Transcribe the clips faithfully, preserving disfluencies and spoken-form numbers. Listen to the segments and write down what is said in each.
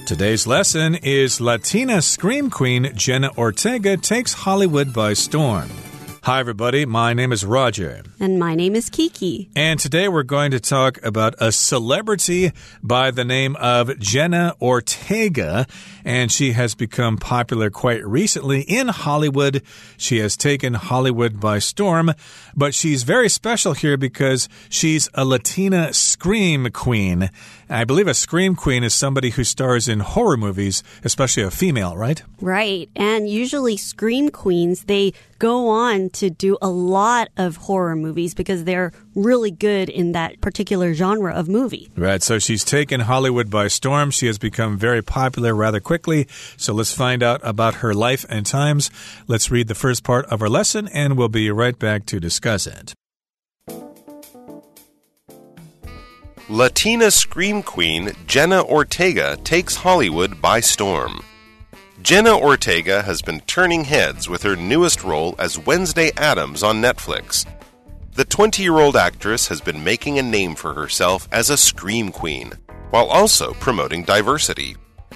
Today's lesson is Latina scream queen Jenna Ortega takes Hollywood by storm. Hi, everybody. My name is Roger. And my name is Kiki. And today we're going to talk about a celebrity by the name of Jenna Ortega. And she has become popular quite recently in Hollywood. She has taken Hollywood by storm. But she's very special here because she's a Latina scream queen. I believe a scream queen is somebody who stars in horror movies, especially a female, right? Right. And usually scream queens, they go on to do a lot of horror movies because they're really good in that particular genre of movie. Right. So she's taken Hollywood by storm. She has become very popular rather quickly. So let's find out about her life and times. Let's read the first part of our lesson, and we'll be right back to discuss it. Latina scream queen Jenna Ortega takes Hollywood by storm. Jenna Ortega has been turning heads with her newest role as Wednesday Addams on Netflix. The twenty-year-old actress has been making a name for herself as a scream queen, while also promoting diversity.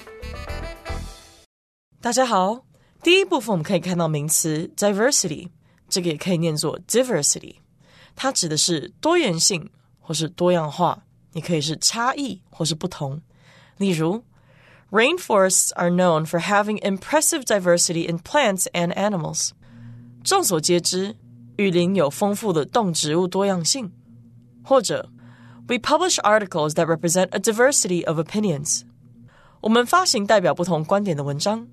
大家好，第一部分我们可以看到名词 diversity， 这个也可以念作 diversity， 它指的是多元性或是多样化，也可以是差異或是不同。例如Rainforests are known for having impressive diversity in plants and animals. 众所皆知，雨林有丰富的动植物多样性。或者 We publish articles that represent a diversity of opinions. 我們發行代表不同觀點的文章。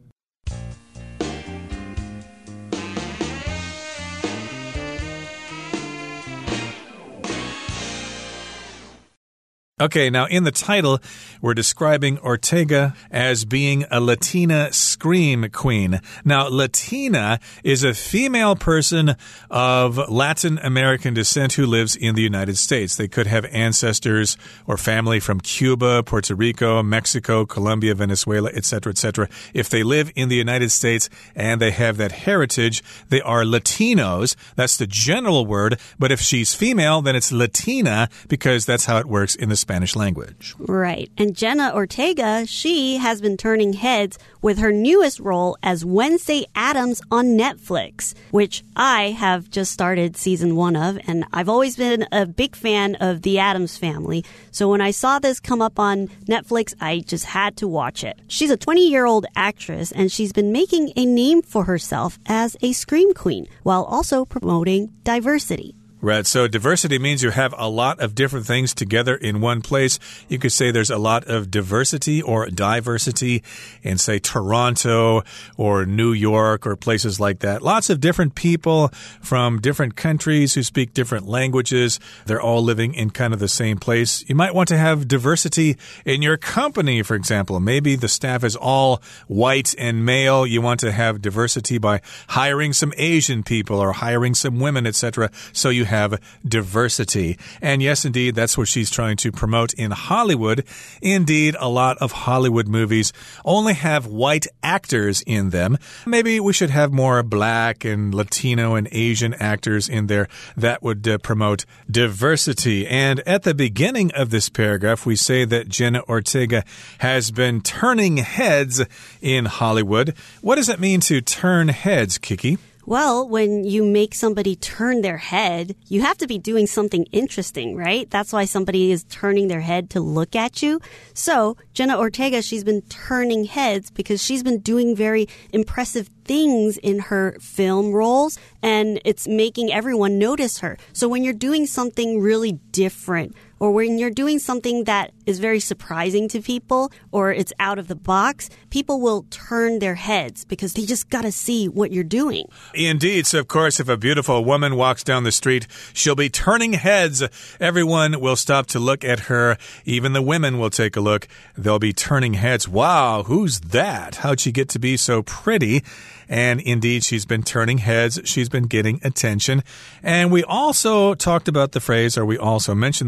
Okay, now in the title, we're describing Ortega as being a Latina scream queen. Now, Latina is a female person of Latin American descent who lives in the United States. They could have ancestors or family from Cuba, Puerto Rico, Mexico, Colombia, Venezuela, et cetera, et cetera. If they live in the United States and they have that heritage, they are Latinos. That's the general word. But if she's female, then it's Latina because that's how it works in the Spanish language. Right. And Jenna Ortega, she has been turning heads with her newest role as Wednesday Addams on Netflix, which I have just started season one of, and I've always been a big fan of the Addams family. So when I saw this come up on Netflix, I just had to watch it. She's a twenty-year-old actress, and she's been making a name for herself as a scream queen while also promoting diversity. Right, so diversity means you have a lot of different things together in one place. You could say there's a lot of diversity or diversity in, say, Toronto or New York or places like that. Lots of different people from different countries who speak different languages. They're all living in kind of the same place. You might want to have diversity in your company, for example. Maybe the staff is all white and male. You want to have diversity by hiring some Asian people or hiring some women, et cetera. So you have diversity. And yes, indeed, that's what she's trying to promote in Hollywood. Indeed, a lot of Hollywood movies only have white actors in them. Maybe we should have more black and Latino and Asian actors in there. That would uh, promote diversity. And at the beginning of this paragraph, we say that Jenna Ortega has been turning heads in Hollywood. What does it mean to turn heads, Kiki? Well, when you make somebody turn their head, you have to be doing something interesting, right? That's why somebody is turning their head to look at you. So, Jenna Ortega, she's been turning heads because she's been doing very impressive things in her film roles, and it's making everyone notice her. So when you're doing something really different, or when you're doing something that is very surprising to people, or it's out of the box, people will turn their heads because they just got to see what you're doing. Indeed. So, of course, if a beautiful woman walks down the street, she'll be turning heads. Everyone will stop to look at her. Even the women will take a look. They'll be turning heads. Wow, who's that? How'd she get to be so pretty? And indeed, she's been turning heads. She's been getting attention. And we also talked about the phrase, or we also mentioned the phrase,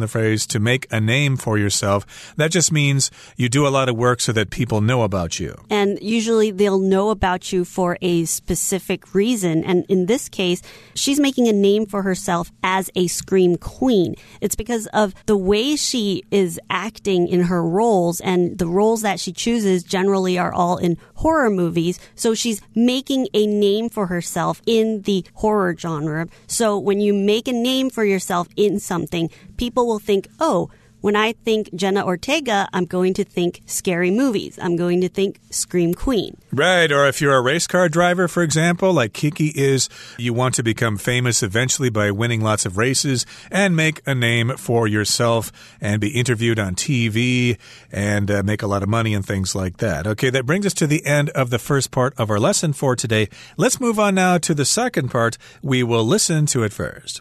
means to make a name for yourself. That just means you do a lot of work so that people know about you. And usually they'll know about you for a specific reason. And in this case, she's making a name for herself as a scream queen. It's because of the way she is acting in her roles, and the roles that she chooses generally are all in horror movies. So she's making a name for herself in the horror genre. So when you make a name for yourself in something, people will think, oh, when I think Jenna Ortega, I'm going to think scary movies. I'm going to think Scream Queen. Right, or if you're a race car driver, for example, like Kiki is, you want to become famous eventually by winning lots of races and make a name for yourself and be interviewed on T V and uh, make a lot of money and things like that. Okay, that brings us to the end of the first part of our lesson for today. Let's move on now to the second part. We will listen to it first.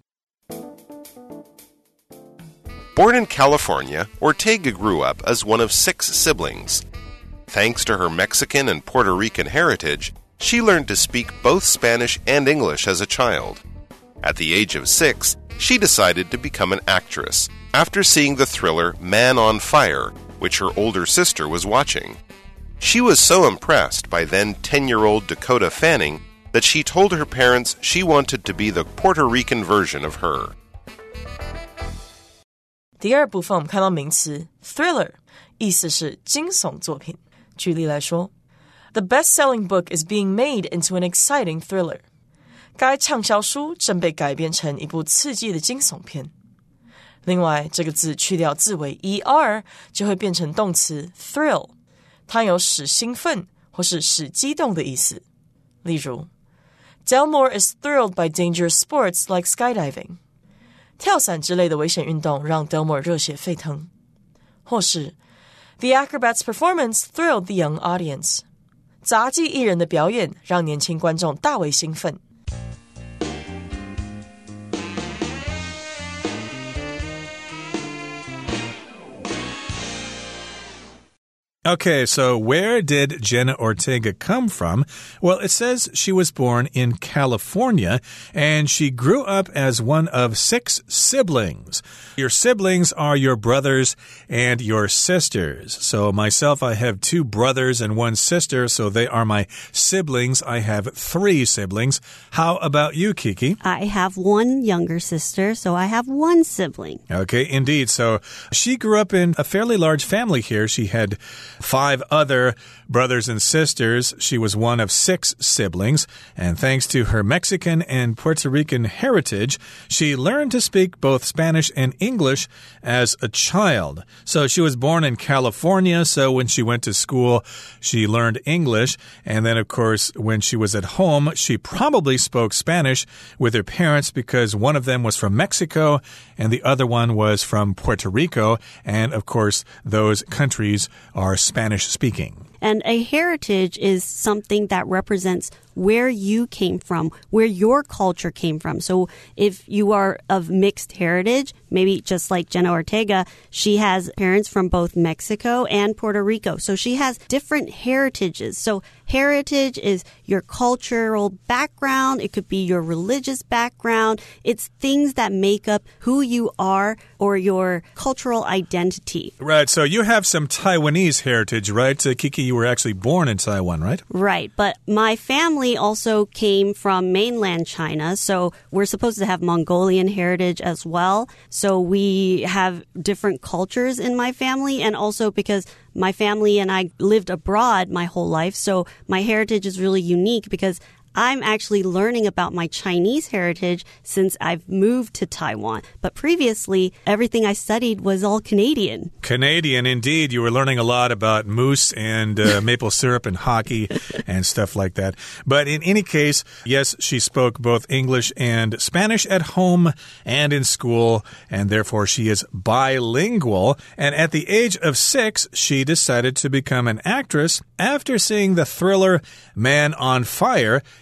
Born in California, Ortega grew up as one of six siblings. Thanks to her Mexican and Puerto Rican heritage, she learned to speak both Spanish and English as a child. At the age of six, she decided to become an actress after seeing the thriller Man on Fire, which her older sister was watching. She was so impressed by then ten-year-old Dakota Fanning that she told her parents she wanted to be the Puerto Rican version of her. 第二部分我们看到名詞 thriller 意思是驚悚作品。舉例來說 The best-selling book is being made into an exciting thriller. 該暢銷書正被改編成一部刺激的驚悚片。另外這個字去掉字尾 er 就會變成動詞 thrill， 它有使興奮或是使激動的意思。例如 Delmore is thrilled by dangerous sports like skydiving.跳傘之類的危險運動讓 Delmore 熱血沸騰。或是 The acrobat's performance thrilled the young audience. 雜技藝人的表演讓年輕觀眾大為興奮。 Okay, so where did Jenna Ortega come from? Well, it says she was born in California, and she grew up as one of six siblings. Your siblings are your brothers and your sisters. So myself, I have two brothers and one sister, so they are my siblings. I have three siblings. How about you, Kiki? I have one younger sister, so I have one sibling. Okay, indeed. So she grew up in a fairly large family here. She had five other brothers and sisters. She was one of six siblings, and thanks to her Mexican and Puerto Rican heritage, she learned to speak both Spanish and English as a child. So she was born in California, so when she went to school, she learned English, and then, of course, when she was at home, she probably spoke Spanish with her parents because one of them was from Mexico and the other one was from Puerto Rico, and, of course, those countries are Spanish-speaking. And a heritage is something that represents where you came from, where your culture came from. So if you are of mixed heritage, maybe just like Jenna Ortega, she has parents from both Mexico and Puerto Rico. So she has different heritages. So heritage is your cultural background. It could be your religious background. It's things that make up who you are or your cultural identity. Right. So you have some Taiwanese heritage, right? Uh, Kiki, you were actually born in Taiwan, right? Right. But my family also came from mainland China, so we're supposed to have Mongolian heritage as well. So we have different cultures in my family, and also because my family and I lived abroad my whole life, so my heritage is really unique because I'm actually learning about my Chinese heritage since I've moved to Taiwan. But previously, everything I studied was all Canadian. Canadian, indeed. You were learning a lot about moose and uh, maple syrup and hockey and stuff like that. But in any case, yes, she spoke both English and Spanish at home and in school, and therefore she is bilingual. And at the age of six, she decided to become an actress after seeing the thriller Man on Fire,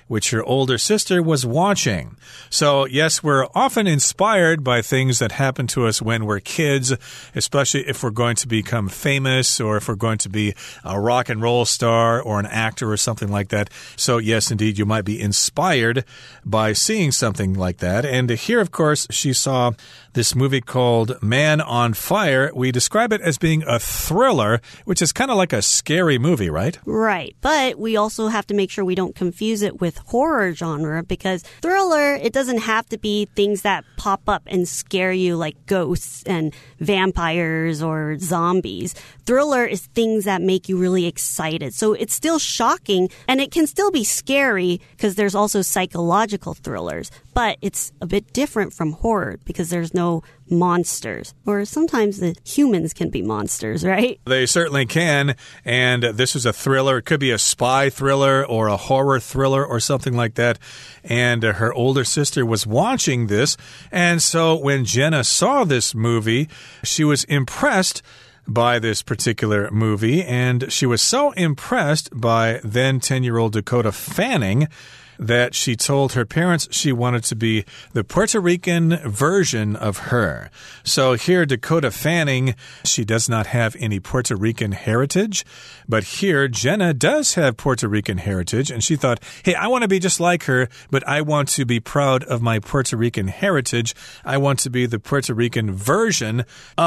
which her older sister was watching. So, yes, we're often inspired by things that happen to us when we're kids, especially if we're going to become famous or if we're going to be a rock and roll star or an actor or something like that. So, yes, indeed, you might be inspired by seeing something like that. And here, of course, she saw this movie called Man on Fire. We describe it as being a thriller, which is kind of like a scary movie, right? Right. But we also have to make sure we don't confuse it with horror genre, because thriller, it doesn't have to be things that pop up and scare you like ghosts and vampires or zombies. Thriller is things that make you really excited. So it's still shocking, and it can still be scary because there's also psychological thrillers. But it's a bit different from horror because there's no monsters. Or sometimes the humans can be monsters, right? They certainly can. And this is a thriller. It could be a spy thriller or a horror thriller or something like that. And uh, her older sister was watching this. And so when Jenna saw this movie, she was impressed by this particular movie. And she was so impressed by then ten-year-old Dakota Fanning that she told her parents she wanted to be the Puerto Rican version of her. So here, Dakota Fanning, she does not have any Puerto Rican heritage, but here, Jenna does have Puerto Rican heritage, and she thought, hey, I want to be just like her, but I want to be proud of my Puerto Rican heritage. I want to be the Puerto Rican version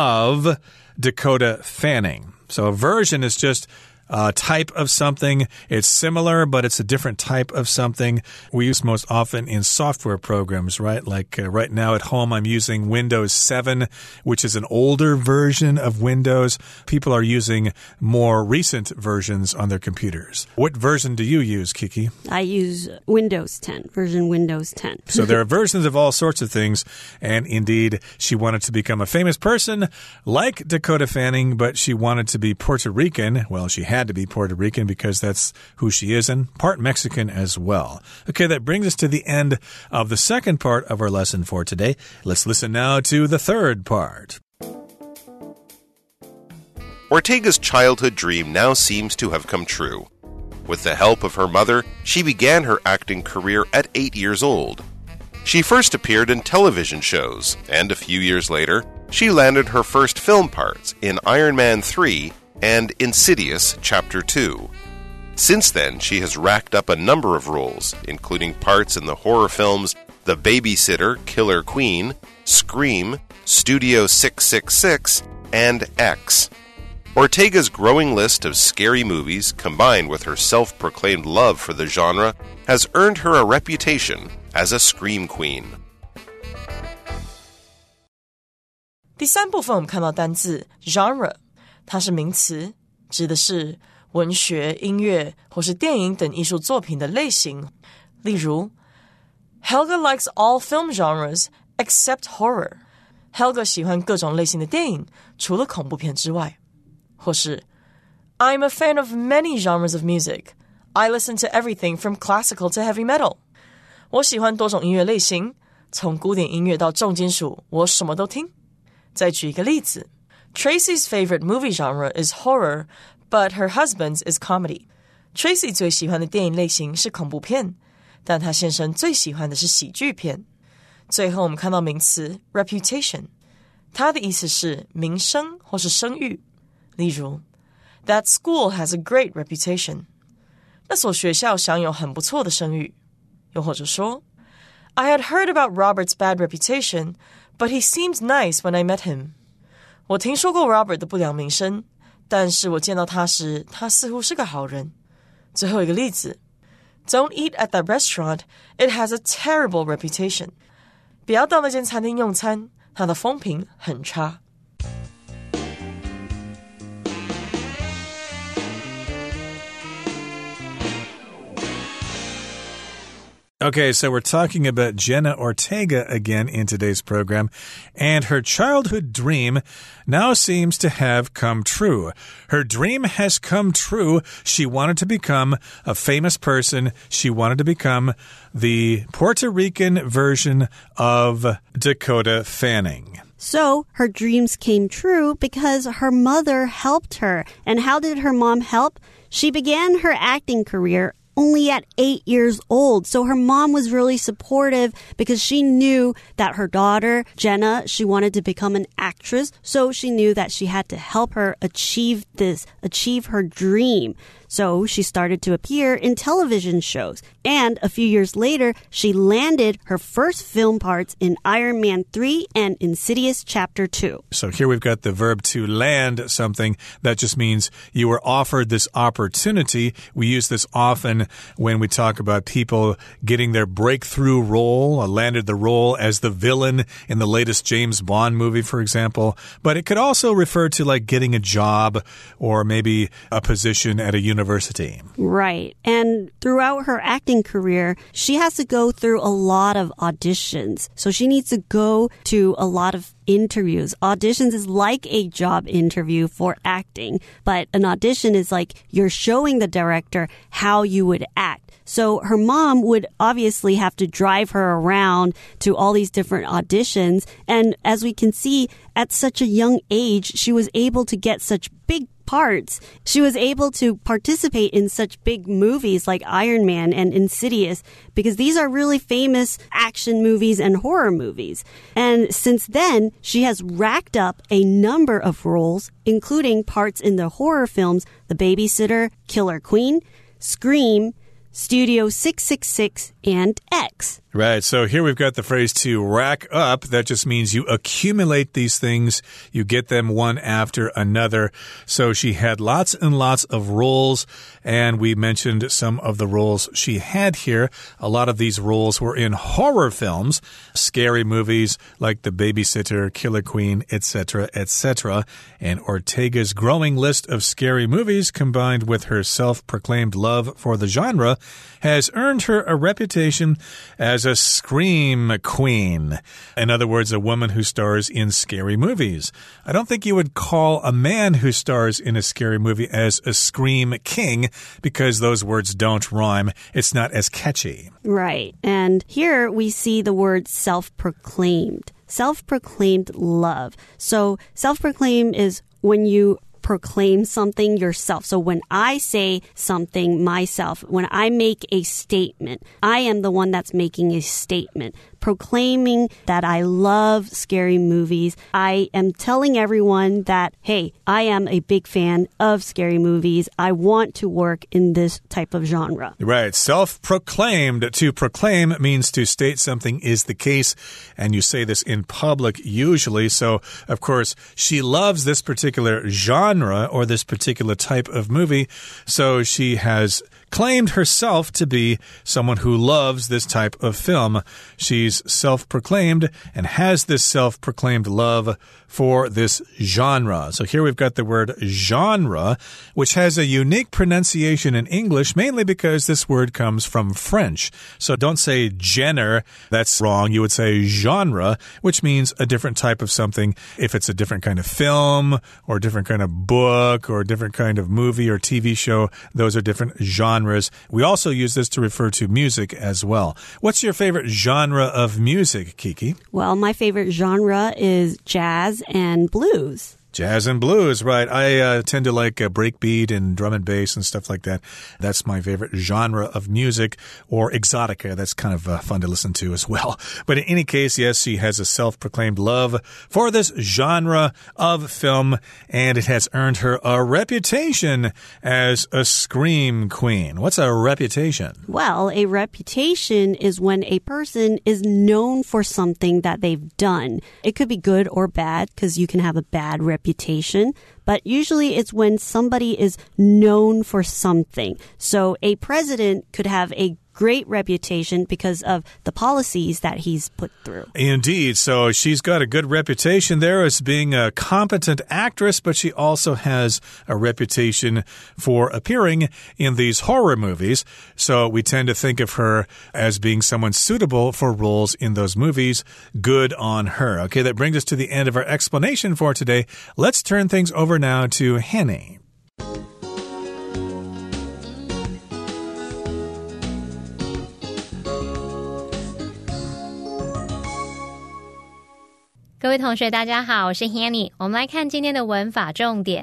of Dakota Fanning. So a version is just Uh, type of something. It's similar, but it's a different type of something. We use most often in software programs, right? Like uh, right now at home, I'm using Windows seven, which is an older version of Windows. People are using more recent versions on their computers. What version do you use, Kiki? I use Windows ten, version Windows ten. So there are versions of all sorts of things. And indeed, she wanted to become a famous person like Dakota Fanning, but she wanted to be Puerto Rican. Well, she had to be Puerto Rican because that's who she is, and part Mexican as well. Okay, that brings us to the end of the second part of our lesson for today. Let's listen now to the third part. Ortega's childhood dream now seems to have come true. With the help of her mother, she began her acting career at eight years old. She first appeared in television shows, and a few years later, she landed her first film parts in Iron Man three and Insidious Chapter two. Since then, she has racked up a number of roles, including parts in the horror films The Babysitter, Killer Queen, Scream, Studio six six six, and X. Ortega's growing list of scary movies, combined with her self-proclaimed love for the genre, has earned her a reputation as a scream queen. 第三部分我们看到单字 genre， 它是名詞，指的是文學、音樂或是電影等藝術作品的類型。例如 Helga likes all film genres except horror. Helga 喜歡各種類型的電影，除了恐怖片之外。或是 I'm a fan of many genres of music. I listen to everything from classical to heavy metal. 我喜歡多種音樂類型，從古典音樂到重金屬，我什麼都聽。再舉一個例子 Tracy's favorite movie genre is horror, but her husband's is comedy. Tracy 最喜歡的電影類型是恐怖片，但她先生最喜歡的是喜劇片。最後我們看到名詞 reputation， 它的意思是名聲或是聲譽。例如 That school has a great reputation. 那所學校享有很不錯的聲譽。又或者說 I had heard about Robert's bad reputation, but he seemed nice when I met him. 我聽說過 Robert 的不良名聲，但是我見到他時，他似乎是個好人。最後一個例子 Don't eat at that restaurant. It has a terrible reputation. 不要到那間餐廳用餐，它的風評很差。 Okay, so we're talking about Jenna Ortega again in today's program, and her childhood dream now seems to have come true. Her dream has come true. She wanted to become a famous person. She wanted to become the Puerto Rican version of Dakota Fanning. So her dreams came true because her mother helped her. And how did her mom help? She began her acting career only at eight years old. So her mom was really supportive because she knew that her daughter, Jenna, she wanted to become an actress. So she knew that she had to help her achieve this, achieve her dream. So she started to appear in television shows. And a few years later, she landed her first film parts in Iron Man three and Insidious Chapter two. So here we've got the verb to land something. That just means you were offered this opportunity. We use this often when we talk about people getting their breakthrough role, or landed the role as the villain in the latest James Bond movie, for example. But it could also refer to like getting a job or maybe a position at a university. University. Right. And throughout her acting career, she has to go through a lot of auditions. So she needs to go to a lot of interviews. Auditions is like a job interview for acting, but an audition is like you're showing the director how you would act. So her mom would obviously have to drive her around to all these different auditions. And as we can see, at such a young age, she was able to get such big parts. She was able to participate in such big movies like Iron Man and Insidious because these are really famous action movies and horror movies. And since then, she has racked up a number of roles, including parts in the horror films The Babysitter, Killer Queen, Scream, Studio six six six, and X. Right, so here we've got the phrase to rack up. That just means you accumulate these things. You get them one after another. So she had lots and lots of roles, and we mentioned some of the roles she had here. A lot of these roles were in horror films, scary movies like The Babysitter, Killer Queen, et cetera, et cetera. And Ortega's growing list of scary movies, combined with her self-proclaimed love for the genre, has earned her a reputation as a scream queen. In other words, a woman who stars in scary movies. I don't think you would call a man who stars in a scary movie as a scream king because those words don't rhyme. It's not as catchy. Right. And here we see the word self-proclaimed. Self-proclaimed love. So self-proclaimed is when you proclaim something yourself. So when I say something myself, when I make a statement, I am the one that's making a statement, proclaiming that I love scary movies. I am telling everyone that, hey, I am a big fan of scary movies. I want to work in this type of genre. Right. Self-proclaimed. To proclaim means to state something is the case, and you say this in public usually. So, of course, she loves this particular genre or this particular type of movie, so she has claimed herself to be someone who loves this type of film. She's self-proclaimed and has this self-proclaimed love for this genre. So here we've got the word genre, which has a unique pronunciation in English, mainly because this word comes from French. So don't say genre, that's wrong. You would say genre, which means a different type of something. If it's a different kind of film or a different kind of book or a different kind of movie or T V show, those are different genres. We also use this to refer to music as well. What's your favorite genre of music, Kiki? Well, my favorite genre is jazz and blues. Jazz and blues, right. I uh, tend to like uh, breakbeat and drum and bass and stuff like that. That's my favorite genre of music. Or exotica. That's kind of uh, fun to listen to as well. But in any case, yes, she has a self-proclaimed love for this genre of film, and it has earned her a reputation as a scream queen. What's a reputation? Well, a reputation is when a person is known for something that they've done. It could be good or bad, because you can have a bad reputation. reputation, but usually it's when somebody is known for something. So a president could have a great reputation because of the policies that he's put through. Indeed. So she's got a good reputation there as being a competent actress, but she also has a reputation for appearing in these horror movies. So we tend to think of her as being someone suitable for roles in those movies. Good on her. Okay, that brings us to the end of our explanation for today. Let's turn things over now to Henny. 各位同學大家好，我是 Hanny。 我們來看今天的文法重點。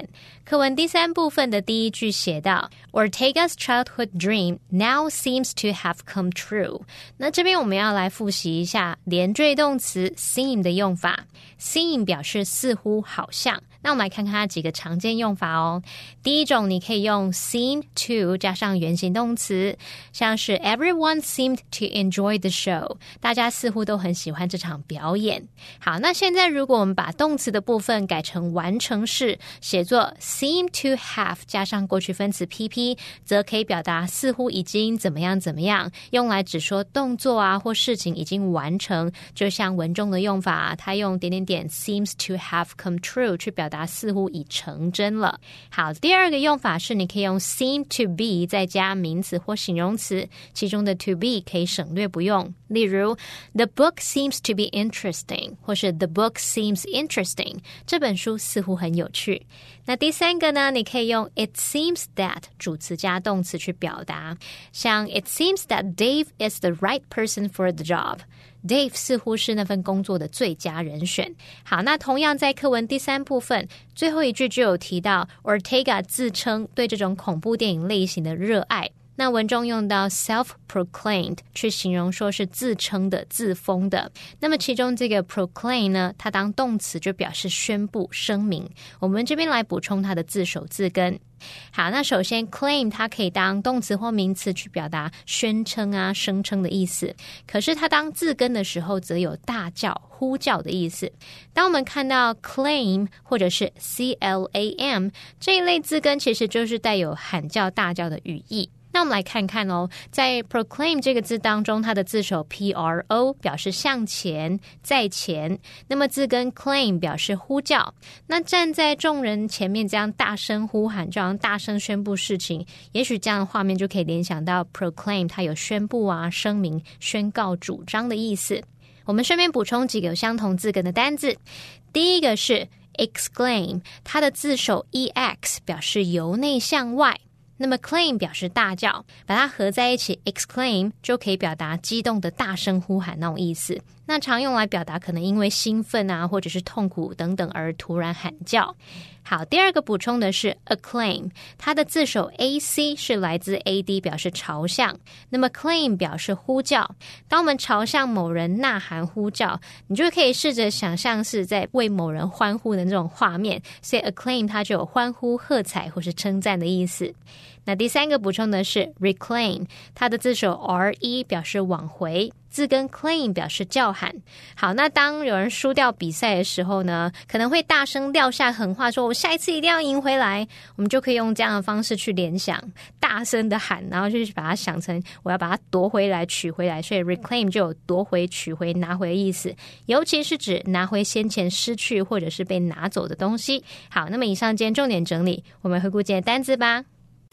課文第三部分的第一句寫到 Ortega's childhood dream now seems to have come true. 那這邊我們要來複習一下連綴動詞 seem 的用法。seem 表示似乎好像，那我們來看看它幾個常見用法哦。第一種，你可以用 seem to 加上原形動詞，像是 Everyone seemed to enjoy the show. 大家似乎都很喜歡這場表演。好，那現在如果我們把動詞的部分改成完成式，寫作 seem to have 加上過去分詞 P P， 則可以表達似乎已經怎麼樣怎麼樣，用來指說動作啊或事情已經完成。就像文中的用法，它用點點點 seems to have come true 去表達似乎已成真了。好，第二個用法是你可以用 seem to be 再加名詞或形容詞，其中的 to be 可以省略不用。例如 The book seems to be interesting 或是 The book seems interesting 這本書似乎很有趣。那第三個呢，你可以用 It seems that 主詞加動詞去表達，像 It seems that Dave is the right person for the job。Dave 似乎是那份工作的最佳人選。好，那同樣在課文第三部分最後一句就有提到 Ortega 自稱對這種恐怖電影類型的熱愛。那文中用到 self-proclaimed 去形容說是自稱的、自封的。那麼其中這個 proclaim 呢，它當動詞就表示宣布、聲明。我們這邊來補充它的字首字根。好，那首先 claim 它可以當動詞或名詞去表達宣稱啊、聲稱的意思。可是它當字根的時候則有大叫、呼叫的意思。當我們看到 claim 或者是 C L A M 這一類字根，其實就是帶有喊叫、大叫的語義。那我們來看看哦，在 proclaim 這個字當中，它的字首 P R O 表示向前、在前，那麼字根 claim 表示呼叫。那站在眾人前面這樣大聲呼喊，這樣大聲宣布事情，也許這樣的畫面就可以聯想到 proclaim 它有宣布啊、聲明、宣告、主張的意思。我們順便補充幾個有相同字根的單字。第一個是 exclaim， 它的字首 E X 表示由內向外。那麼 claim 表示大叫，把它合在一起 exclaim 就可以表達激動的大聲呼喊那種意思。那常用來表達可能因為興奮啊或者是痛苦等等而突然喊叫。好，第二個補充的是 acclaim， 它的字首 A C 是來自 A D 表示朝向，那麼 claim 表示呼叫。當我們朝向某人吶喊呼叫，你就可以試着想象是在為某人歡呼的那種畫面，所以 acclaim 它就有歡呼、喝彩或是稱讚的意思。那第三個補充的是 reclaim， 它的字首 R E 表示往回，字根 claim 表示叫喊。好，那當有人輸掉比賽的時候呢，可能會大聲撂下狠話說我下一次一定要贏回來，我們就可以用這樣的方式去聯想，大聲的喊，然後就把它想成我要把它奪回來、取回來，所以 reclaim 就有奪回、取回、拿回的意思，尤其是指拿回先前失去或者是被拿走的東西。好，那麼以上今天重點整理，我們回顧今天的單字吧。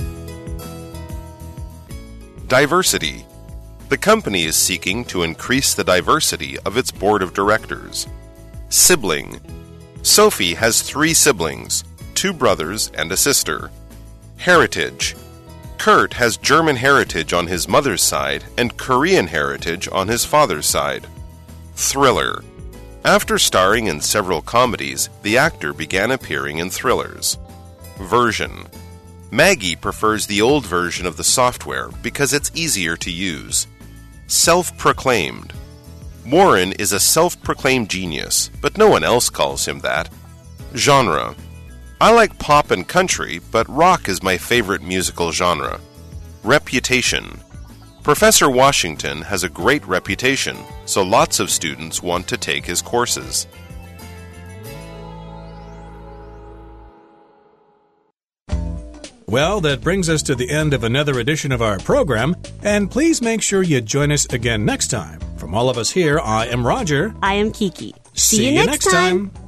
Diversity. The company is seeking to increase the diversity of its board of directors. Sibling. Sophie has three siblings, two brothers and a sister. Heritage. Kurt has German heritage on his mother's side and Korean heritage on his father's side. Thriller. After starring in several comedies, the actor began appearing in thrillers. Version. Maggie prefers the old version of the software because it's easier to use. Self-proclaimed. Warren is a self-proclaimed genius, but no one else calls him that. Genre. I like pop and country, but rock is my favorite musical genre. Reputation. Professor Washington has a great reputation, so lots of students want to take his courses. Well, that brings us to the end of another edition of our program, and please make sure you join us again next time. From all of us here, I am Roger. I am Kiki. See, See you, you next time. time.